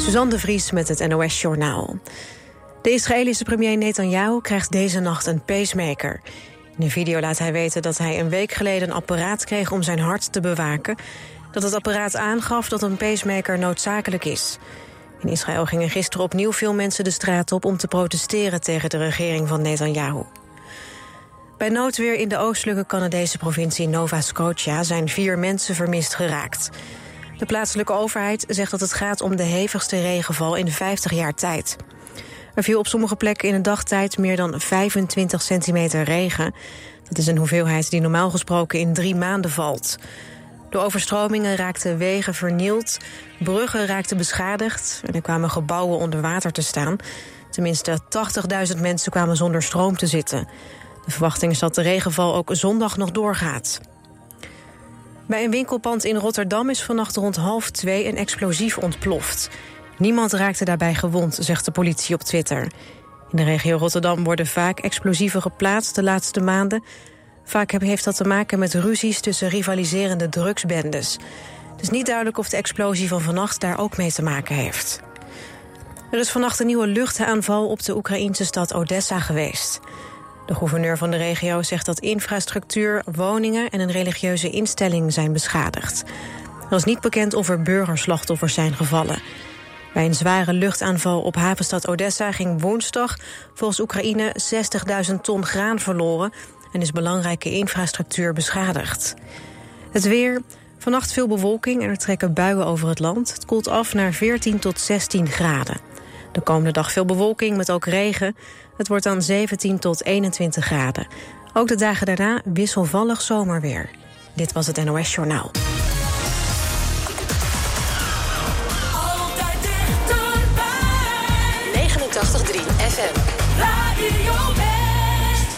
Suzanne de Vries met het NOS-journaal. De Israëlische premier Netanyahu krijgt deze nacht een pacemaker. In een video laat hij weten dat hij een week geleden een apparaat kreeg om zijn hart te bewaken. Dat het apparaat aangaf dat een pacemaker noodzakelijk is. In Israël gingen gisteren opnieuw veel mensen de straat op om te protesteren tegen de regering van Netanyahu. Bij noodweer in de oostelijke Canadese provincie Nova Scotia zijn 4 mensen vermist geraakt. De plaatselijke overheid zegt dat het gaat om de hevigste regenval in 50 jaar tijd. Er viel op sommige plekken in een dagtijd meer dan 25 centimeter regen. Dat is een hoeveelheid die normaal gesproken in 3 maanden valt. Door overstromingen raakten wegen vernield, bruggen raakten beschadigd en er kwamen gebouwen onder water te staan. Tenminste 80.000 mensen kwamen zonder stroom te zitten. De verwachting is dat de regenval ook zondag nog doorgaat. Bij een winkelpand in Rotterdam is vannacht rond 1:30 een explosief ontploft. Niemand raakte daarbij gewond, zegt de politie op Twitter. In de regio Rotterdam worden vaak explosieven geplaatst de laatste maanden. Vaak heeft dat te maken met ruzies tussen rivaliserende drugsbendes. Het is niet duidelijk of de explosie van vannacht daar ook mee te maken heeft. Er is vannacht een nieuwe luchtaanval op de Oekraïnse stad Odessa geweest. De gouverneur van de regio zegt dat infrastructuur, woningen en een religieuze instelling zijn beschadigd. Er is niet bekend of er burgerslachtoffers zijn gevallen. Bij een zware luchtaanval op havenstad Odessa ging woensdag volgens Oekraïne 60.000 ton graan verloren en is belangrijke infrastructuur beschadigd. Het weer, vannacht veel bewolking en er trekken buien over het land. Het koelt af naar 14 tot 16 graden. De komende dag veel bewolking met ook regen. Het wordt dan 17 tot 21 graden. Ook de dagen daarna wisselvallig zomerweer. Dit was het NOS Journaal. Altijd dichterbij. 89.3 FM. Radio West.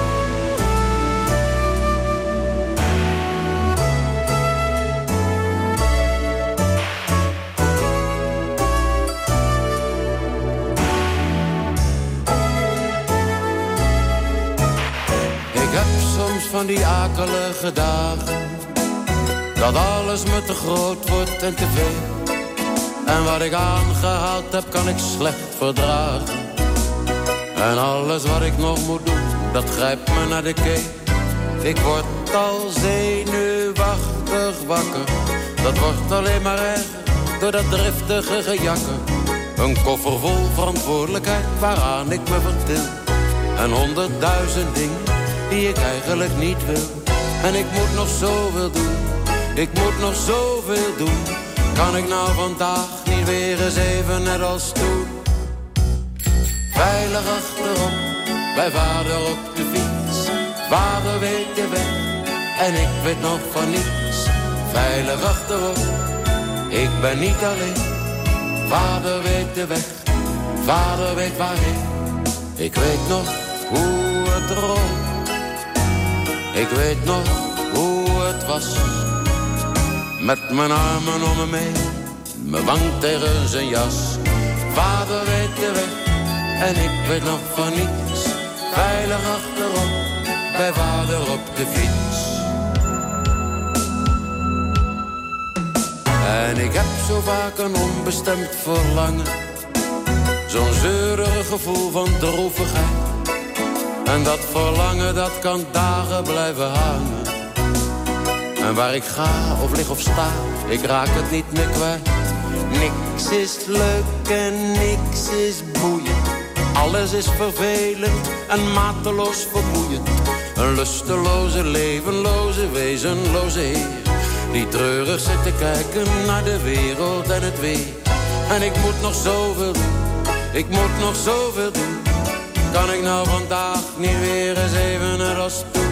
Ik heb soms van die akelige dagen, dat alles me te groot wordt en te veel. En wat ik aangehaald heb, kan ik slecht verdragen. En alles wat ik nog moet doen, dat grijpt me naar de keel. Ik word al zenuwachtig wakker. Dat wordt alleen maar erger, door dat driftige gejakker. Een koffer vol verantwoordelijkheid, waaraan ik me vertil. En 100.000 dingen die ik eigenlijk niet wil. En ik moet nog zoveel doen, ik moet nog zoveel doen. Kan ik nou vandaag niet weer eens even net als toen? Veilig achterop, bij vader op de fiets. Vader weet de weg, en ik weet nog van niets. Veilig achterop, ik ben niet alleen. Vader weet de weg, vader weet waarheen. Ik weet nog hoe het rolt. Ik weet nog hoe het was. Met mijn armen om me mee, mijn wang tegen zijn jas. Vader weet de weg, en ik weet nog van niets. Veilig achterop, bij vader op de fiets. En ik heb zo vaak een onbestemd verlangen. Zo'n zeurig gevoel van droevigheid. En dat verlangen, dat kan dagen blijven hangen. En waar ik ga of lig of sta, ik raak het niet meer kwijt. Niks is leuk en niks is boeiend. Alles is vervelend en mateloos vermoeiend. Een lusteloze, levenloze, wezenloze heer, die treurig zit te kijken naar de wereld en het weer. En ik moet nog zoveel doen, ik moet nog zoveel doen. Kan ik nou vandaag niet weer eens even net als toen?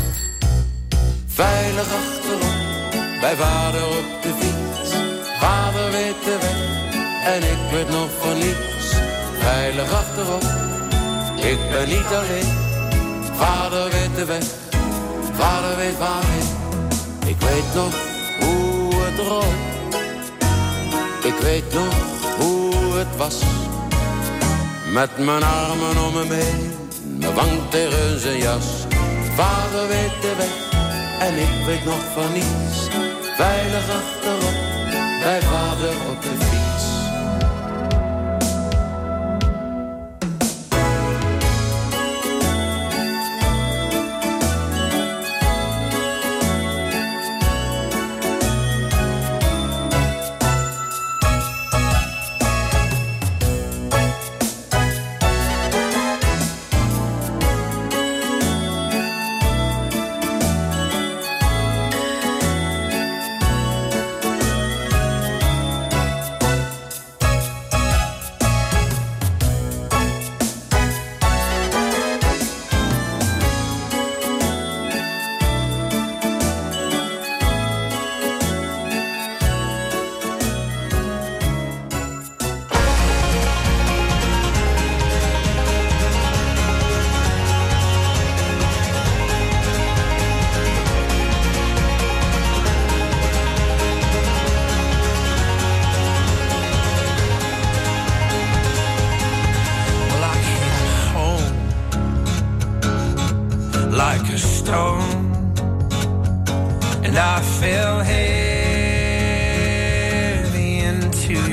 Veilig achterop, bij vader op de fiets. Vader weet de weg, en ik weet nog van niets. Veilig achterop, ik ben niet alleen. Vader weet de weg, vader weet waarheen. Ik weet nog hoe het rolt. Ik weet nog hoe het was. Met mijn armen om me heen, mijn wang tegen zijn jas. Vader weet de weg, en ik weet nog van niets. Veilig achterop, bij vader op de fiets.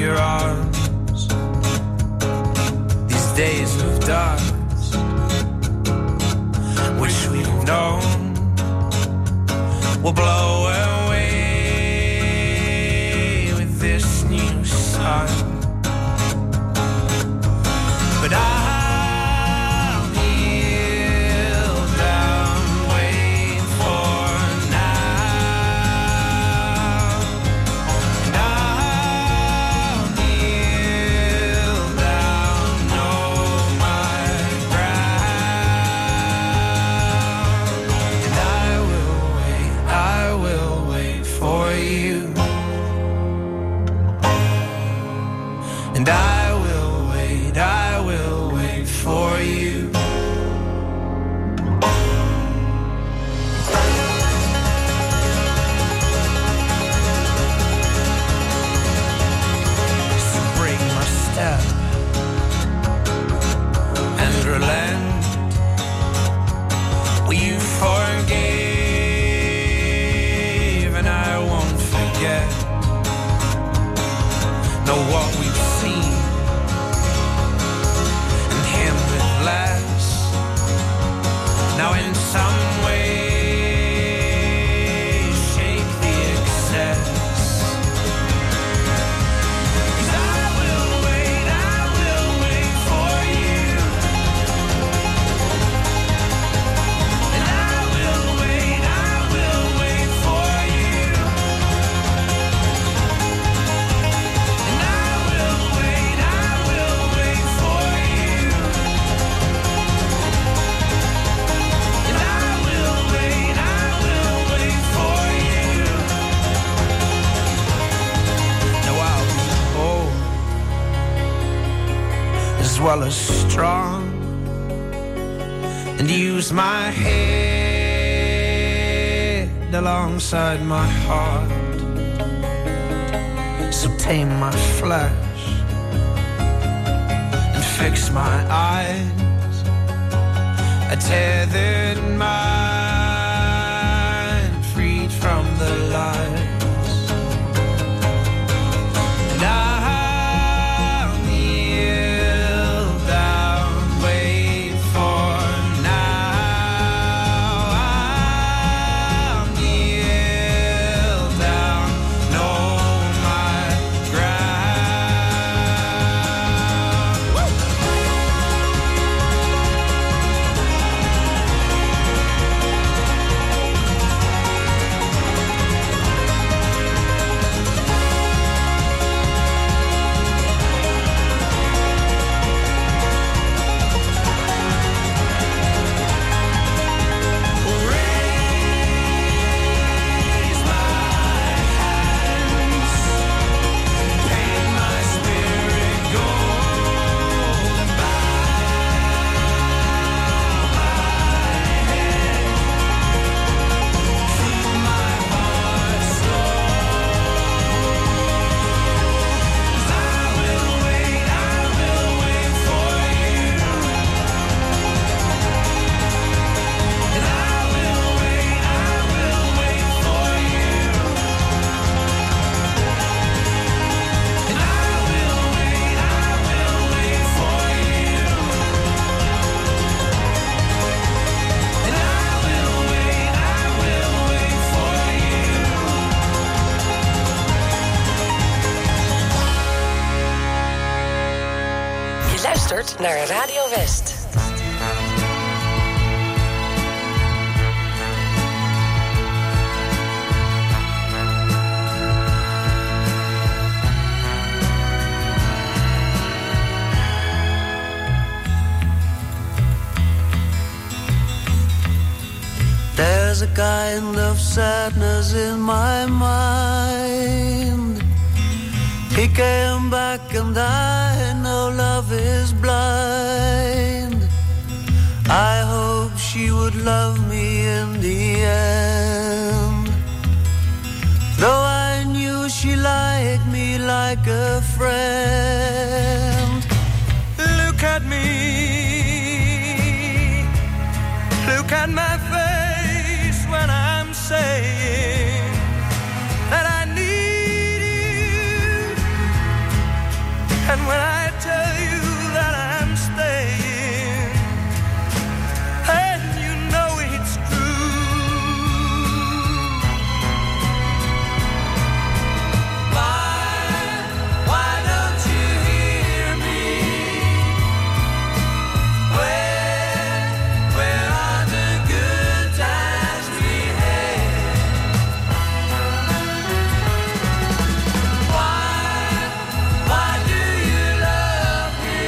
your arms. These days of darkness, which we've known, will blow away with this new sun. But I'll kneel down, wait for now. And I'll kneel down, know my ground. And I will wait for you. And I will wait for you. So break my step and relent. Well, you forgave and I won't forget. Know what we've seen and him with less. Now in some way shake the excess. 'Cause I will wait for you. And I will wait for you. And I will wait for you. And I will wait for you. Now I'll be bold as well as strong, and use my head alongside my heart. So tame my flesh and fix my eyes, a tethered mind freed from the lies. And I'll kneel down, wait for now. I'll kneel down, know my ground. Raise my hands, paint my spirit gold, and bow my head, feel my heart slow. 'Cause I will wait for you. And I will wait for you. And I will wait for you. And I will wait for you. Je luistert naar Radio West. There's a kind of sadness in my mind. He came back and I know love is blind. I hope she would love me in the end. Though I knew she liked me like a friend. Look at me, look at my face when I'm saying that I need you. And when I tell you that I'm staying, and you know it's true. Why don't you hear me? Where are the good times we had? Why do you love me?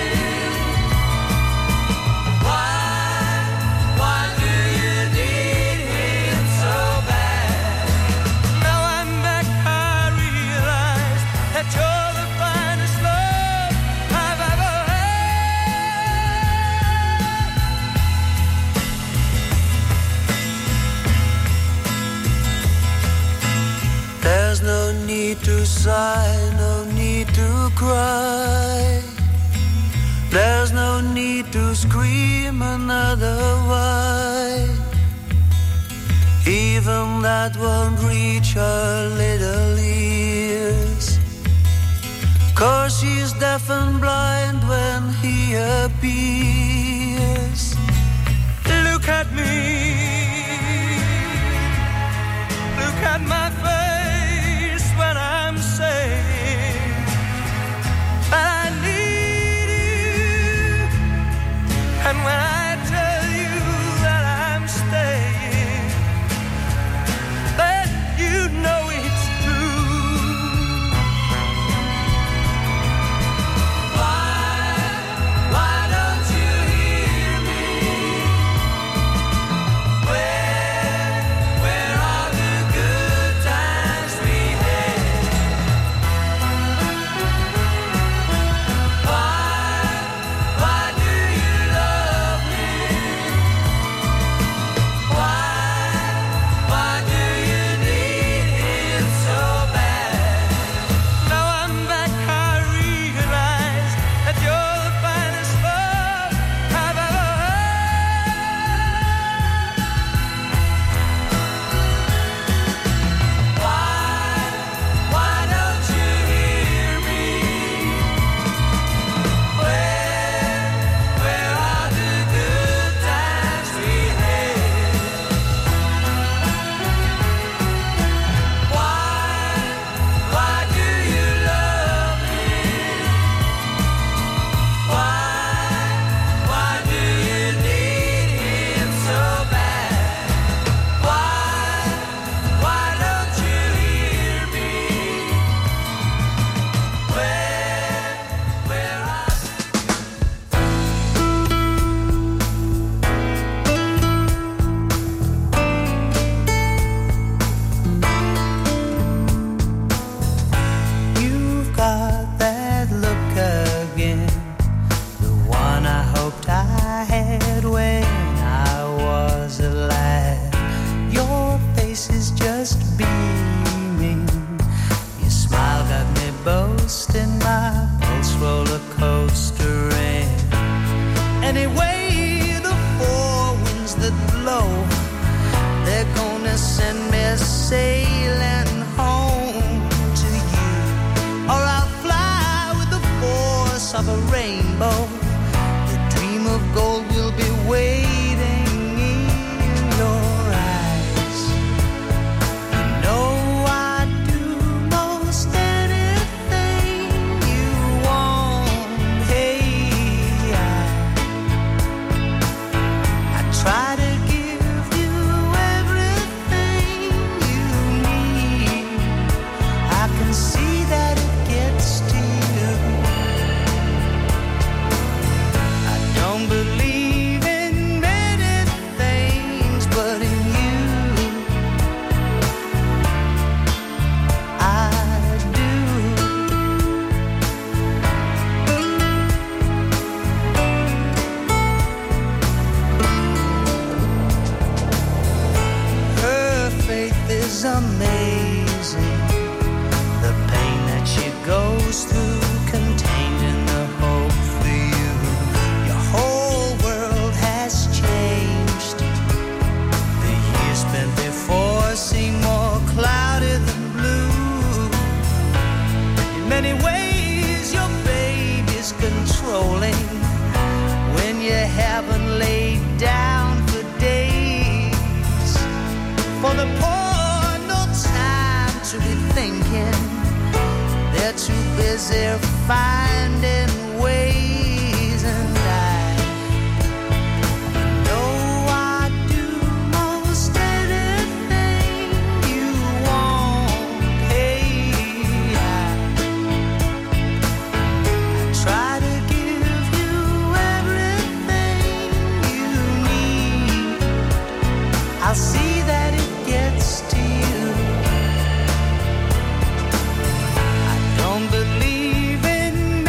Why do you need him so bad? Now I'm back, I realize that you're the finest love I've ever had. There's no need to sigh, no need to cry. There's no need to scream another why. Even that won't reach her little ears, 'cause she's deaf and blind when he appears. Look at me, look at my face when I'm saying that I need you. And when I tell you that I'm staying, then you know it's true. Why don't you hear me? Where are the good times we had? Why do you love me? Why do you need him so bad? Now I'm back, I realize that you're the finest love I've ever had. Why don't you hear me? Where are the good times we had? Why do you love me? Why do you need him so bad? Why don't you hear me? Where are You've got that look again, the one I hoped I had when I was alive. Your face is just beaming, your smile got me boasting, my pulse roller coastering. Anyway, the four winds that blow, they're gonna send me sailing home to you, or I'll fly with the force of a rainbow. The dream of gold will be waiting in your eyes. You know I'd do most anything you want. Hey, I try to give you everything you need. I can see that it gets to you. I don't believe finding ways, and I know I'd do most anything you want. Hey, I try to give you everything you need. I'll see that it gets to you. I don't believe in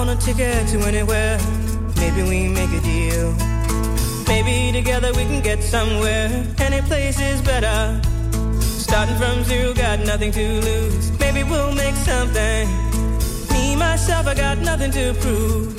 on a ticket to anywhere. Maybe we make a deal. Maybe together we can get somewhere. Any place is better. Starting from zero, got nothing to lose. Maybe we'll make something. Me, myself, I got nothing to prove.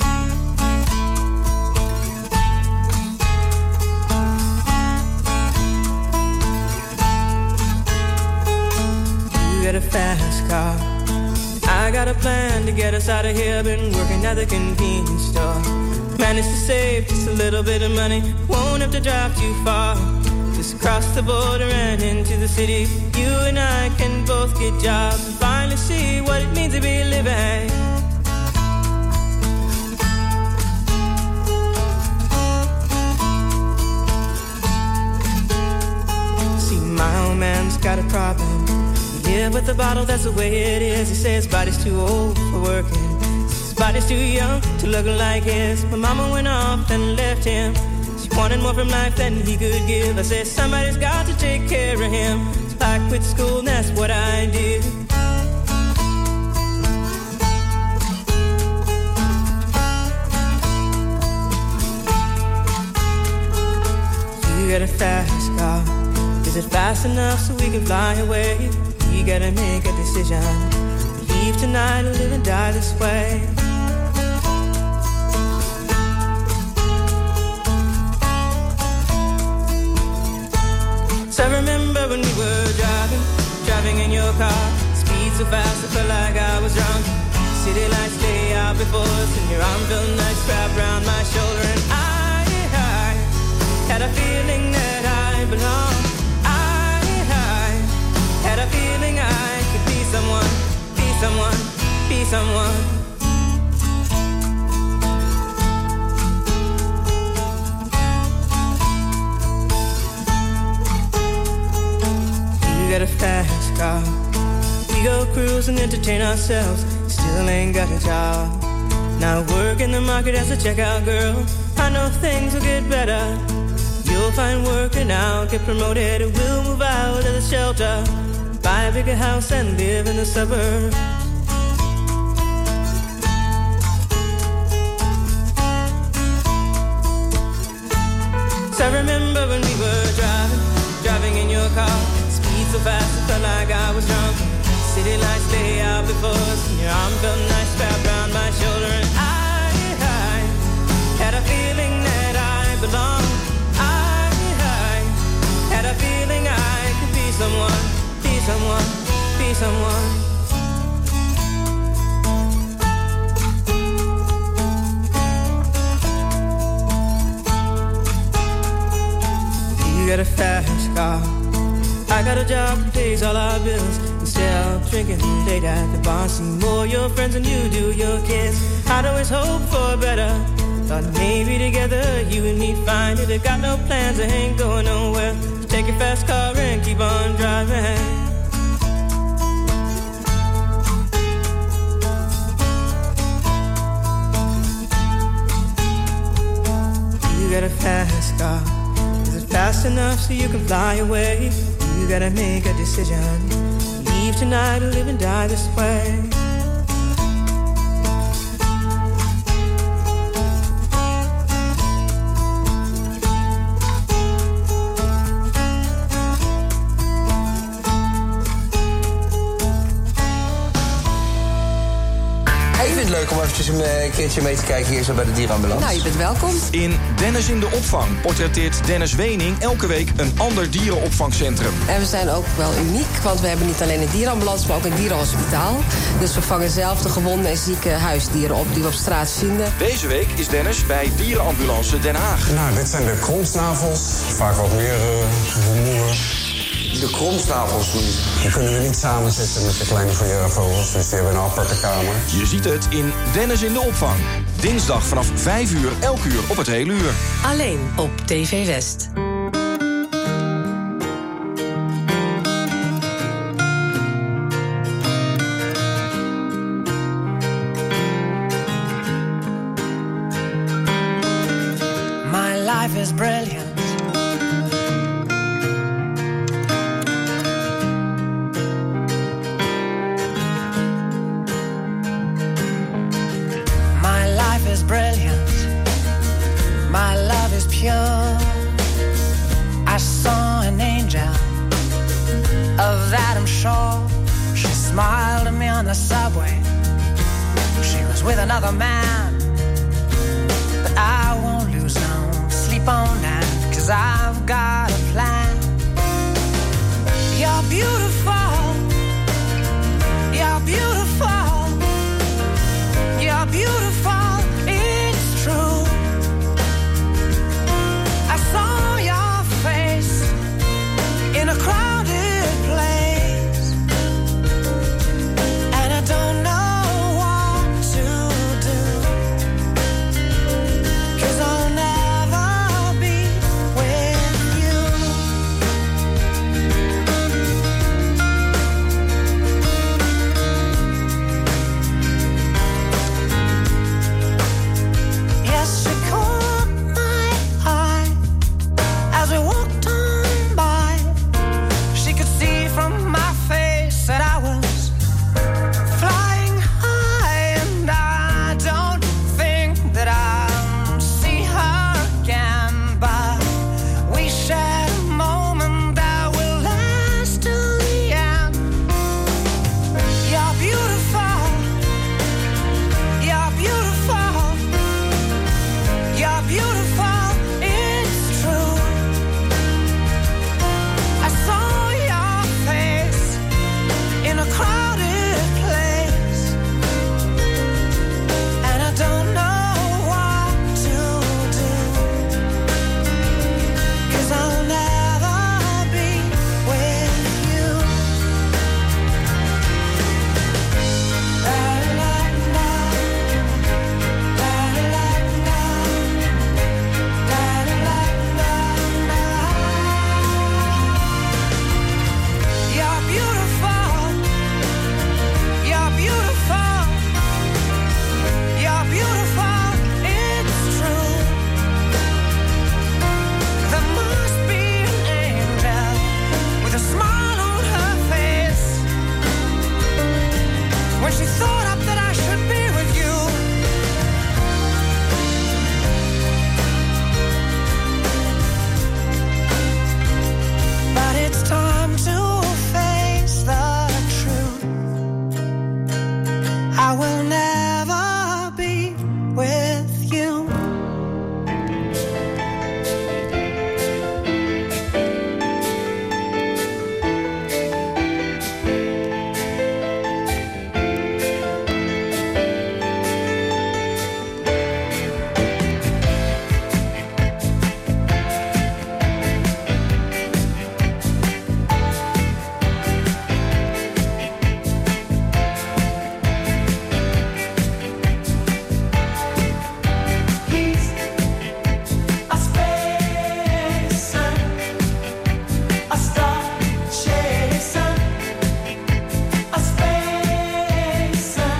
You got a fast car. I got a plan to get us out of here. Been working at the convenience store. Managed to save just a little bit of money. Won't have to drive too far. Just cross the border and into the city. You and I can both get jobs and finally see what it means to be living. See, my old man's got a problem. He live with the bottle, that's the way it is. He says his body's too old for working. His body's too young to look like his. My mama went off and left him. Wanted more from life than he could give. I said somebody's got to take care of him. So I quit school and that's what I did. You got a fast car. Is it fast enough so we can fly away? You gotta make a decision. Leave tonight or live and die this way. I remember when we were driving in your car. Speed so fast I felt like I was drunk. City lights lay out before us, and your arm felt nice wrapped around my shoulder. And I had a feeling that I belonged. I had a feeling I could be someone, be someone, be someone. Got a fast car. We go cruise and entertain ourselves. Still ain't got a job. Now work in the market as a checkout girl. I know things will get better. You'll find work and I'll get promoted. We'll move out of the shelter, buy a bigger house and live in the suburbs. So I remember when we were driving in your car. So fast it felt like I was drunk. City lights lay out before us, and your arm felt nice wrapped around my shoulder. And I had a feeling that I belonged. I had a feeling I could be someone, be someone, be someone. You got a fast car. I got a job that pays all our bills. Instead of drinking late at the bar, see more your friends than you do your kids. I'd always hope for better. Thought maybe together you and me find it. I got no plans, I ain't going nowhere. So take your fast car and keep on driving. You got a fast car. Is it fast enough so you can fly away? You gotta make a decision. Leave tonight or live and die this way. Leuk om eventjes een keertje mee te kijken hier zo bij de dierenambulance. Nou, je bent welkom. In Dennis in de opvang portretteert Dennis Wening elke week een ander dierenopvangcentrum. En we zijn ook wel uniek, want we hebben niet alleen een dierenambulance, maar ook een dierenhospitaal. Dus we vangen zelf de gewonde en zieke huisdieren op die we op straat vinden. Deze week is Dennis bij Dierenambulance Den Haag. Nou, dit zijn de kromsnavels. Vaak wat meer rumoer. De kromsnavels niet. Die kunnen we niet samenzetten met de kleine vogels, dus die hebben een aparte kamer. Je ziet het in Dennis in de opvang. Dinsdag vanaf 5 uur, elk uur op het hele uur. Alleen op TV West. My life is brilliant. My the subway. She was with another man, but I won't lose no sleep on that, 'cause I've got a plan. You're beautiful, you're beautiful, you're beautiful, it's true. I saw your face in a crowded place, and I don't know what to do, 'cause I'll never be with you. Yes, she caught my eye as we walked on by. She could see from my face that I was flying high, and I don't think that I'll see her again, but we shared a moment that will last till the end. You're beautiful, you're beautiful, you're beautiful, it's true. I saw your face in a crowded place, and I don't know what to do, 'cause I'll never be with you. La la la, la la la, la la la. You're beautiful, you're beautiful, you're beautiful, it's true. There must be an angel with a smile on her face when she thought up that I should be with you. But it's time to face the truth. I will never be with you. He's a spacer, a star chaser, a spacer.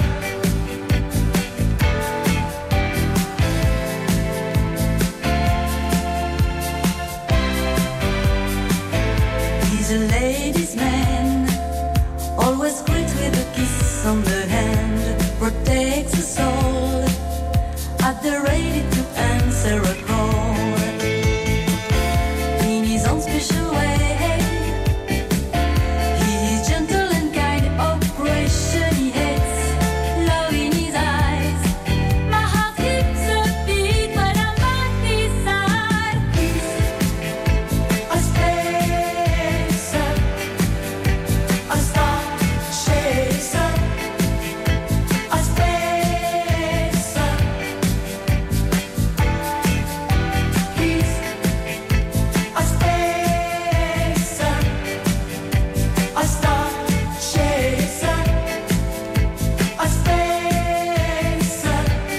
He's a ladies' man, always greet with a kiss on the hand, protects the soul, at the ready to answer a call. In his own special way, he is gentle and kind, oppression he hates, love in his eyes. My heart skips a beat when I'm by his side. A spacer, a star chaser, a spacer. He's a spacer, a star chaser, a spacer.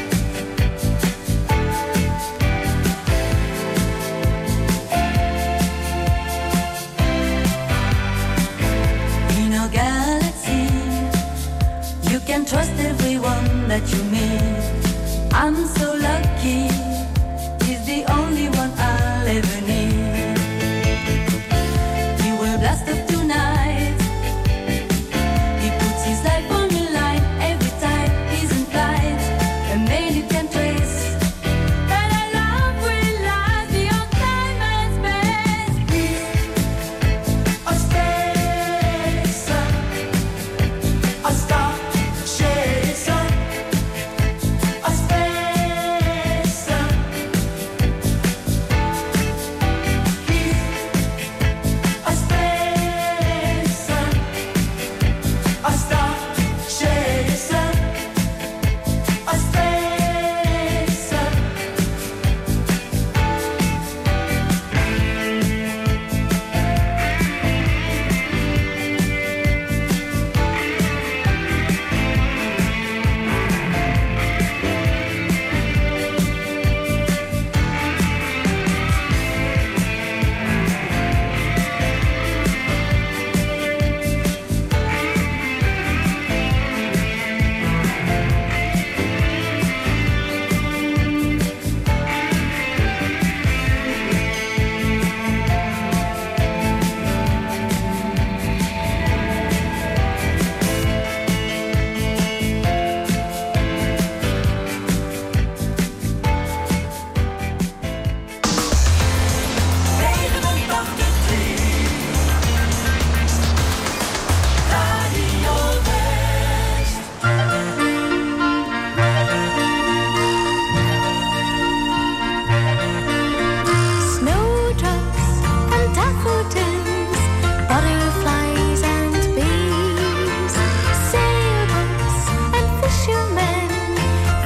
In our galaxy, you can trust everyone that you meet. I'm so lucky, he's the only one I'll ever need. He will blast off tonight, he puts his life on the line every time he's in flight. A man you can trace, that I love will last beyond time and space. He's a spacer, a star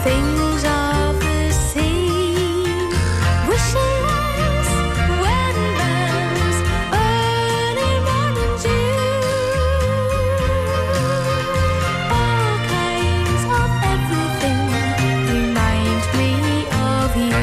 things of the sea, wishing lights, wedding bells, early morning dew, all kinds of everything remind me of you.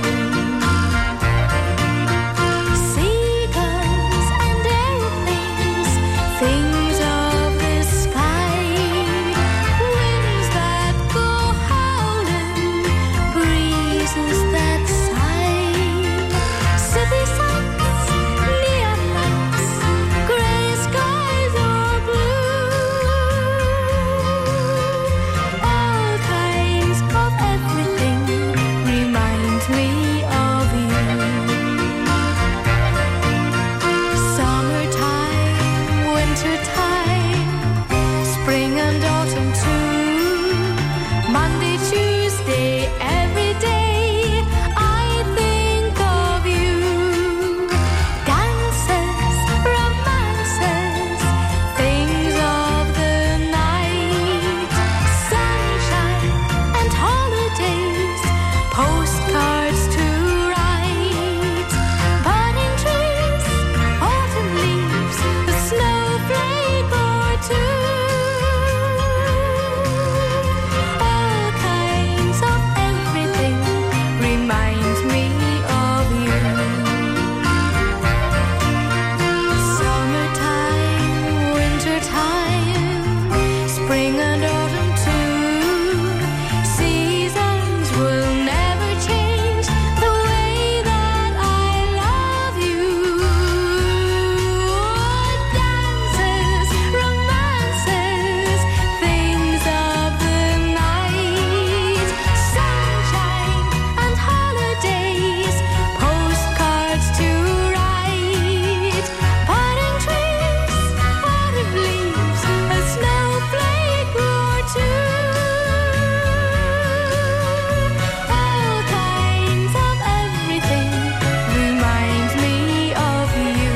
Seagulls and airplanes, things of the sky, winds that go howling, breezes that sigh, city sights, neon lights, gray skies or blue, all kinds of everything remind me of you. Summertime, wintertime, spring and autumn too. Monday, Tuesday, every day I think of you. Dances, romances, things of the night, sunshine and holidays, postcards to write, budding trees, autumn leaves, a snowflake or two, all kinds of everything remind me of you. Summertime, wintertime, spring and autumn too. Seasons will never change the way that I love you. Dances, romances, things of the night, sunshine and holidays, postcards to write, budding trees, autumn leaves, a snowflake or two, all kinds of everything remind me of you.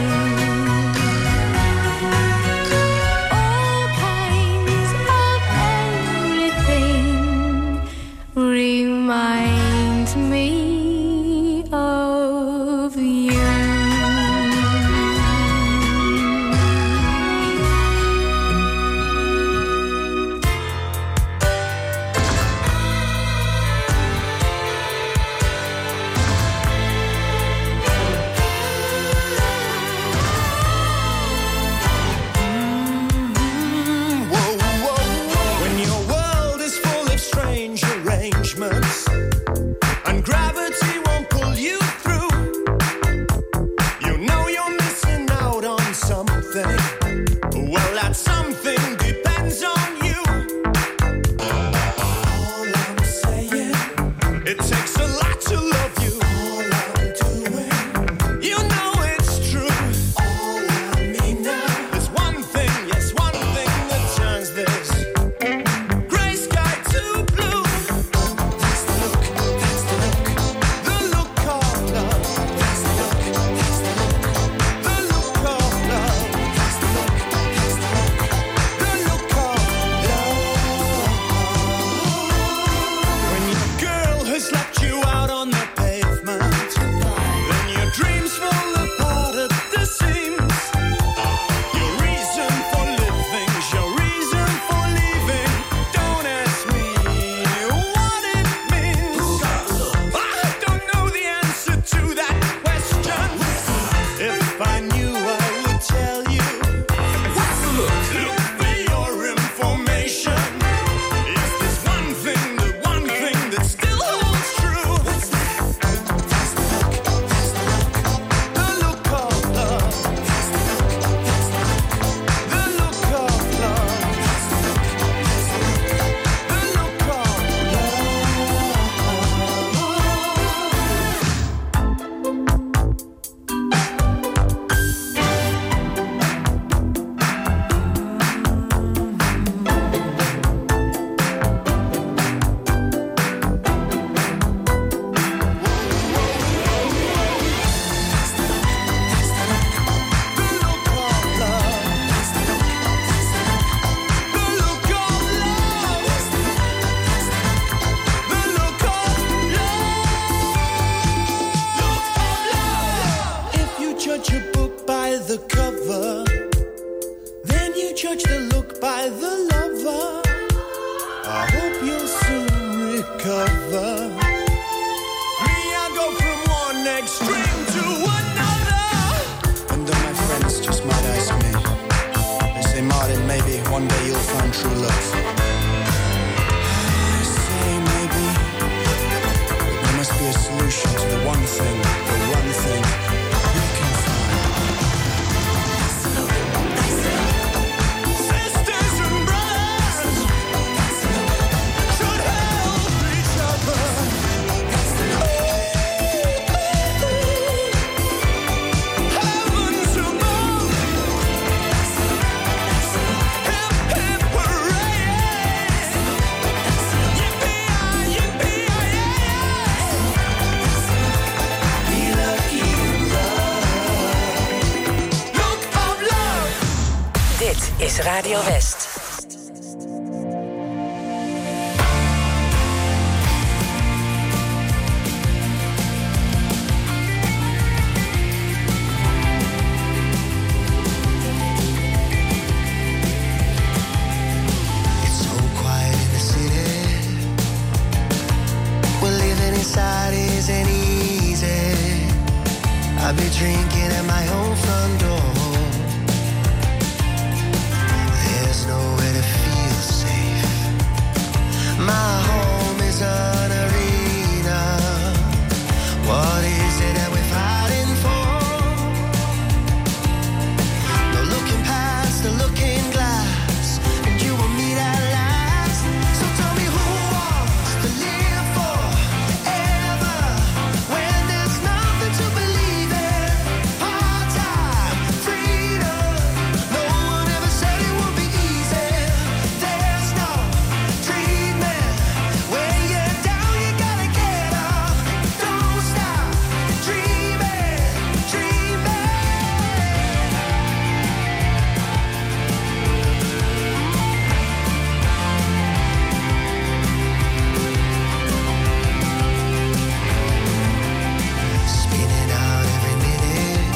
All kinds of everything remind me of you. When your world is full of strange arrangements and gravity won't pull you through, you know you're missing out on something. Well, that something depends on you. All I'm saying, it takes a lot to love you. All I'm doing, you know it's true. All I mean now is one thing, yes, one thing that turns this gray sky to blue. That's the other. Me, I go from one extreme to another. And then my friends just might ask me, they say, Martin, maybe one day you'll find true love. I say maybe, but there must be a solution to the one thing you can find. Sisters and brothers should help each other. Heavens above, hip hip hooray! Yippee-yi, yippee-yi-yi! Be lucky in love. Look of love. Dit is Radio West. It's so quiet in the city. Well, living inside isn't easy. I'll be drinking at my own front door. There's nowhere to feel safe. My home is an arena. What is it that we're fighting for? No looking past the looking glass, and you will meet at last. So tell me who wants to live forever when there's nothing to believe in? Part-time freedom. No one ever said it would be easy. There's no treatment. When you're down, you gotta get up. Don't stop dreaming, dreaming. Spinning out every minute,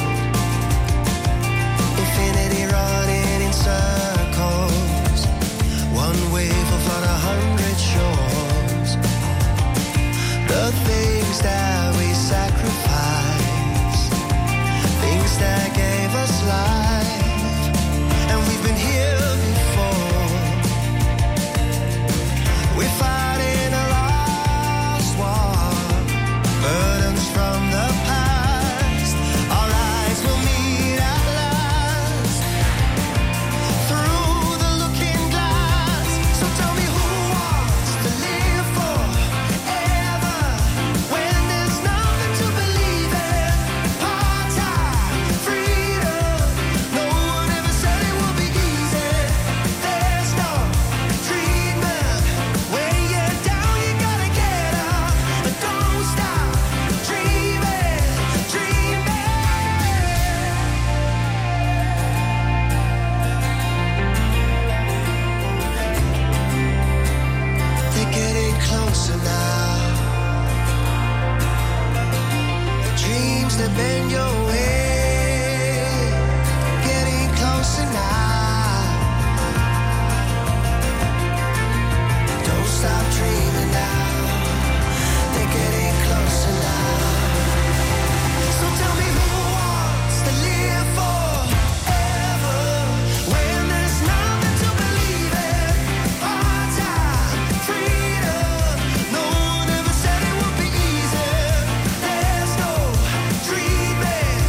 infinity running in circles. One wave will flood 100 shores. The things that we sacrifice, things that gave us life, and we've been here before. We're fighting a lost war, burdens from the past. Our eyes will meet at last through the looking glass. So tell me who wants to live forever when there's nothing to believe in? Part-time freedom. No one ever said it would be easy. There's no treatment. When you're down, you gotta get up. But don't stop dreaming, dreaming. They're getting closer now. The dreams that bend your way, getting closer now. Don't stop dreaming now. They're getting closer now. So tell me who wants to live forever when there's nothing to believe in? Part-time freedom. No one ever said it would be easy. There's no treatment.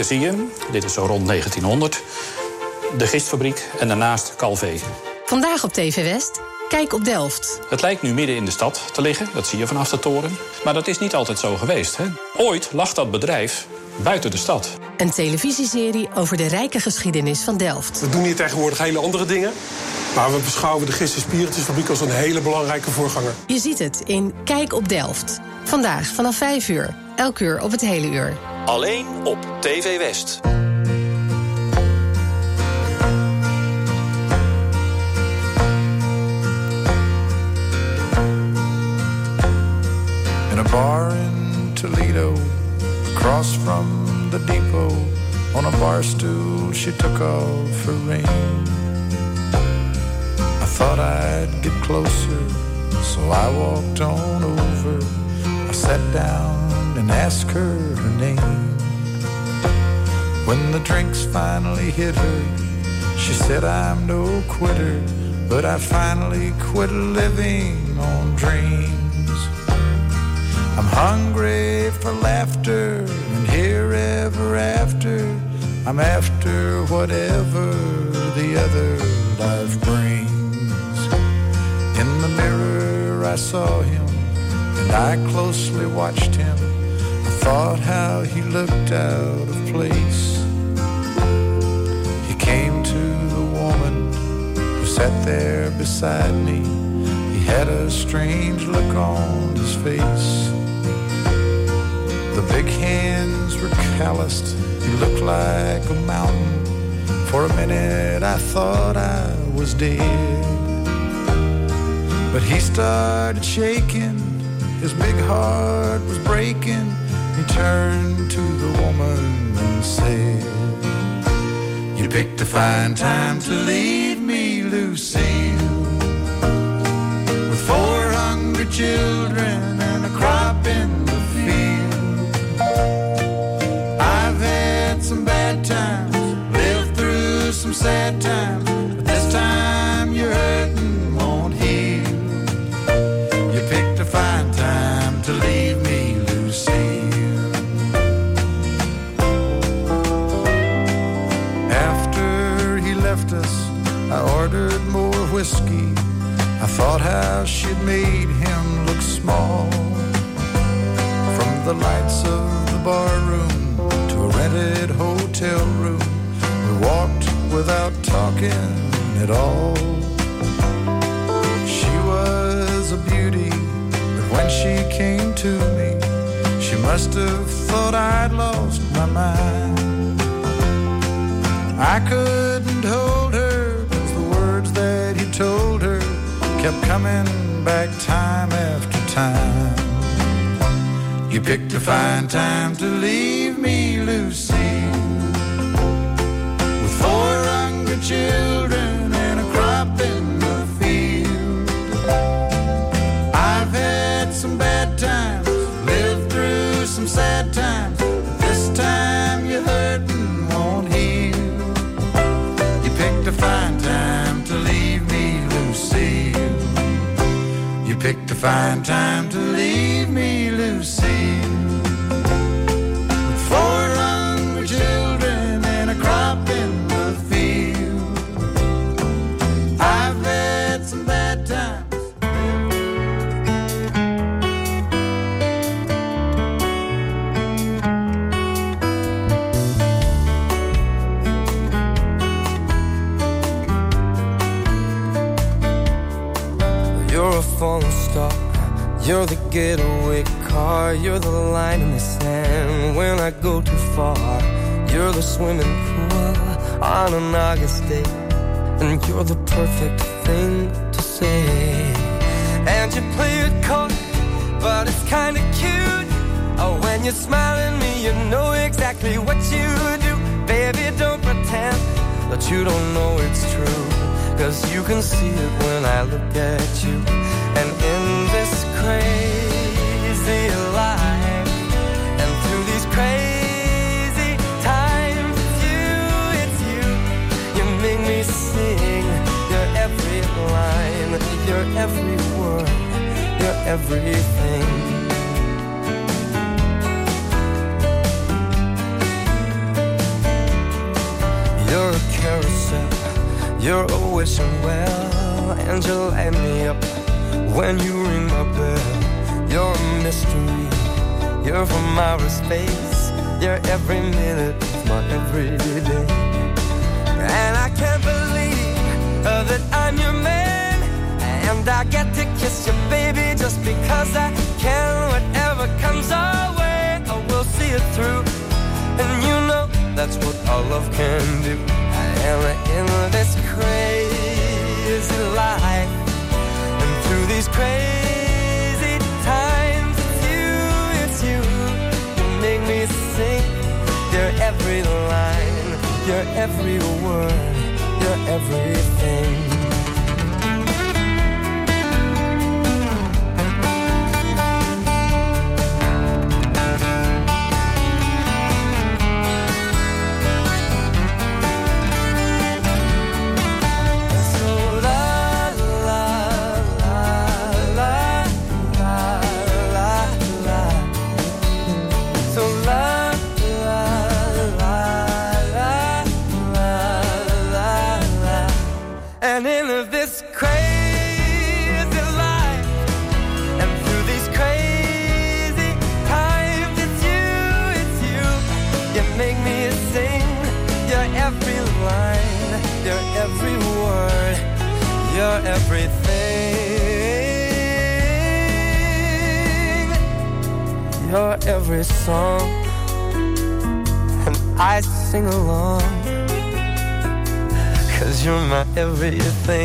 Hier zie je hem. Dit is zo rond 1900. De gistfabriek en daarnaast Calvé. Vandaag op TV West. Kijk op Delft. Het lijkt nu midden in de stad te liggen, dat zie je vanaf de toren. Maar dat is niet altijd zo geweest. Hè? Ooit lag dat bedrijf buiten de stad. Een televisieserie over de rijke geschiedenis van Delft. We doen hier tegenwoordig hele andere dingen. Maar we beschouwen de Gist- en Spiritusfabriek als een hele belangrijke voorganger. Je ziet het in Kijk op Delft. Vandaag vanaf 5 uur. Elk uur op het hele uur. Alleen op TV West. In a bar in Toledo, across from the depot, on a bar stool she took off her ring. I thought I'd get closer, so I walked on over. I sat down and asked her name. When the drinks finally hit her, she said I'm no quitter, but I finally quit living on dreams. I'm hungry for laughter, and here ever after, I'm after whatever the other life brings. In the mirror I saw him, and I closely watched him. I thought how he looked out of place. He came to the woman who sat there beside me. He had a strange look on his face. The big hands were calloused, he looked like a mountain. For a minute I thought I was dead. But he started shaking, his big heart was breaking. He turned to the woman and said, "You picked a fine time to leave me, Lucille, with 4 hungry children and a crop in the field. I've had some bad times, lived through some sad times, but this time you're hurting won't heal. You picked a fine time to leave me, Lucille." After he left us, I ordered more whiskey. I thought how she'd made him look small. From the lights of the bar room to a rented hotel room, we walked without talking at all. She was a beauty, but when she came to me, she must have thought I'd lost my mind. I couldn't hold her, 'cause the words that he told her kept coming back time after time. You picked a fine time to leave me, Lucille, with 4 hungry children and a crop in the field. I've had some bad times, lived through some sad times, but this time you're hurting won't heal. You picked a fine time to leave me, Lucille. You picked a fine time to leave me, Lucille, with 4 hungry children and a crop in the field. I've had some bad times. You're a falling star, you're the getaway car, you're the line in the sand when I go too far. You're the swimming pool on an August day, and you're the perfect thing to say. And you play it cold, but it's kinda cute. Oh, when you smile at me, you know exactly what you do. Baby, don't pretend that you don't know it's true, 'cause you can see it when I look at you. And in this crazy life, and through these crazy times, it's you. You make me sing your every line, your every word, your everything. You're a carousel, you're always well, and you light me up when you ring my bell. You're a mystery, you're from outer space, you're every minute of my everyday. And I can't believe that I'm your man, and I get to kiss you, baby, just because I can. Whatever comes our way, I will see it through. And you know that's what all love can do. I am in this crazy life, and through these crazy times, it's you, you make me sing. You're every line, you're every word, you're everything. Every word, you're everything. You're every song, and I sing along, 'cause you're my everything.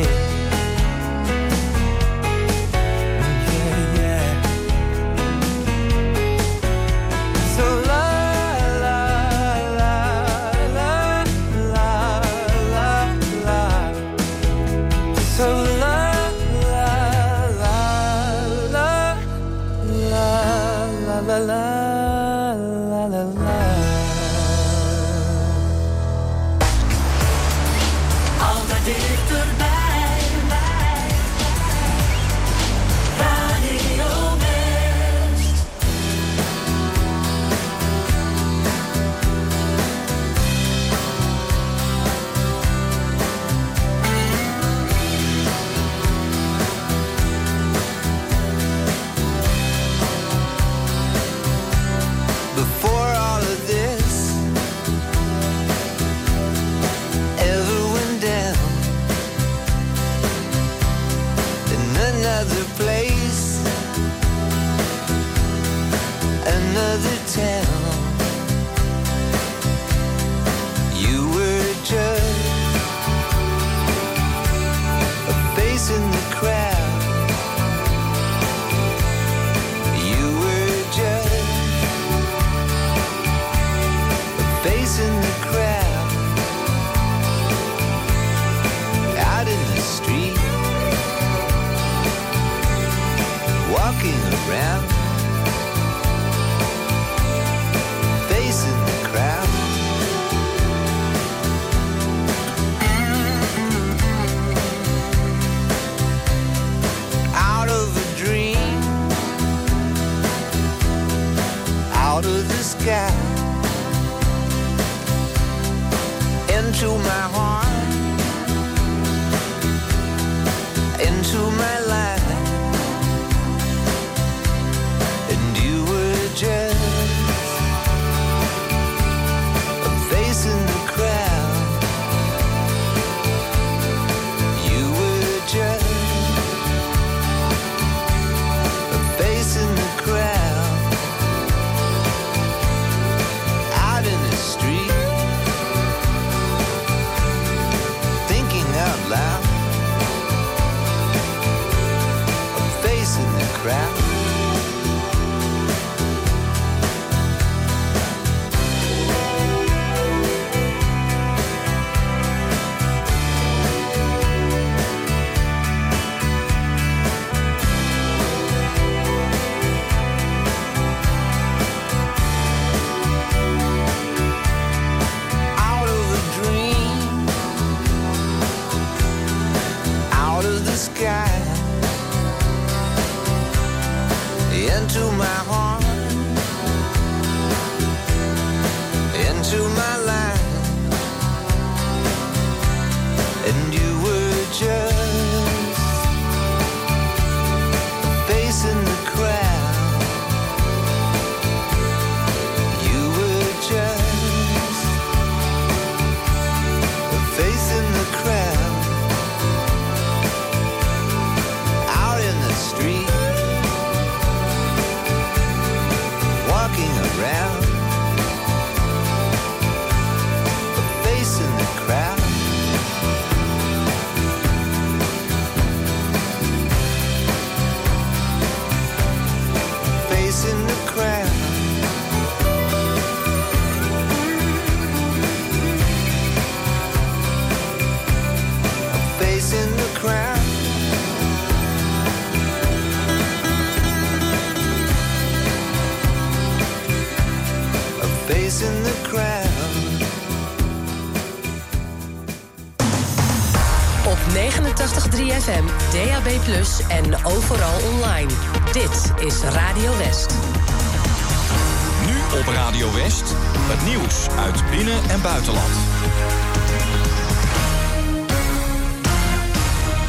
face in the crowd. Op 89.3 FM, DAB+ en overal online. Dit is Radio West. Nu op Radio West, het nieuws uit binnen- en buitenland.